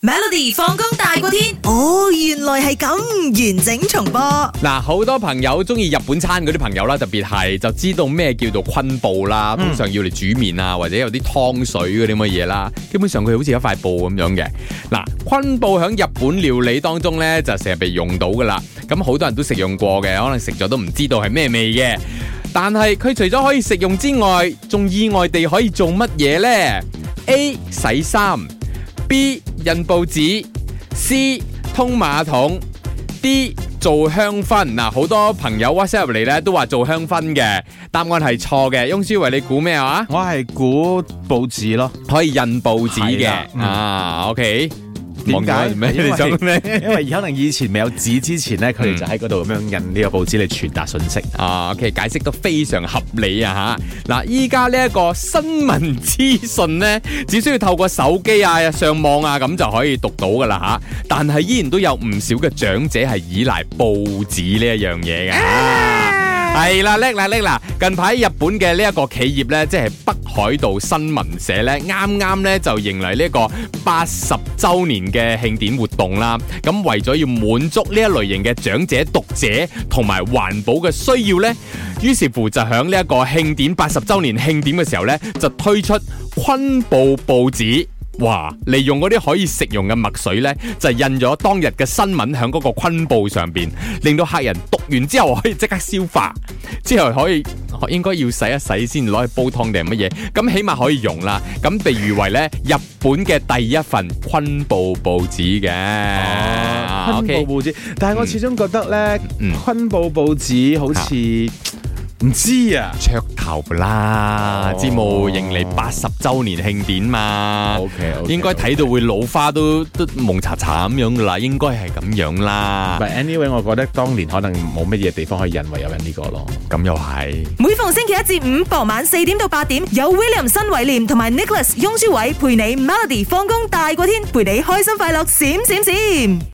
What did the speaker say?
Melody 放工大過天，哦，原來係咁，完整重播。 嗱，好多朋友中意日本餐嗰啲朋友啦，特別係就知道咩叫做昆布啦，通常要嚟煮麵啊，或者有啲湯水嗰啲乜嘢啦，基本上佢好似一塊布咁樣嘅。嗱，昆布喺日本料理當中呢，就成日被用到噶啦，咁好多人都食用過嘅，可能食咗都唔知道係咩味嘅。但係佢除咗可以食用之外，仲意外地可以做乜嘢呢？ A. 洗衫， B. 印報紙， C. 通馬桶， D. 做香薰。嗱，好多朋友 WhatsApp 入嚟咧都話做香薰嘅，答案係錯嘅。翁書維，你估咩話？ 我係估報紙咯， 可以印報紙嘅。OK。 點解？ 你想咩？ 因為可能以前未有紙之前咧，佢哋就喺嗰度咁樣印呢個報紙嚟傳達信息。 OK， 解釋得非常合理啊吓。嗱，依家呢一個新聞資訊呢，只需要透過手機啊、上網啊咁就可以讀到噶啦吓。但係依然都有唔少嘅長者係依賴報紙呢一樣嘢嘅。係啦，叻啦！近排日本嘅呢一個企業呢，即係北海道新聞社呢，啱呢就迎嚟呢一個80週年嘅慶典活動啦。咁為咗要滿足呢一類型嘅長者讀者同埋環保嘅需要呢，於是乎就響呢一個慶典80週年慶典嘅時候呢，就推出昆布報紙。哇！利用嗰啲可以食用嘅墨水呢，就印咗當日嘅新聞喺嗰個昆布上邊，令到客人讀完之後可以即刻消化，之後可以應該要洗一洗先攞去煲湯定係乜嘢，咁起碼可以用啦。咁被譽為呢日本嘅第一份昆布報紙嘅。 昆布報紙，但係我始終覺得呢，昆布報紙好似唔知啊， 噱頭啦，節目迎嚟80週年慶典嘛 OK， 應該睇到會老花都蒙查查咁樣噶啦，應該係咁樣啦。 But anyway， 我覺得當年可能冇乜嘢地方可以印，唯有印呢個咯。 咁又係。 每逢星期一至五傍晚4點到8點，有 William 新偉廉同埋 Nicholas 雍舒偉陪你 Melody 放工大過天，陪你開心快樂閃閃閃。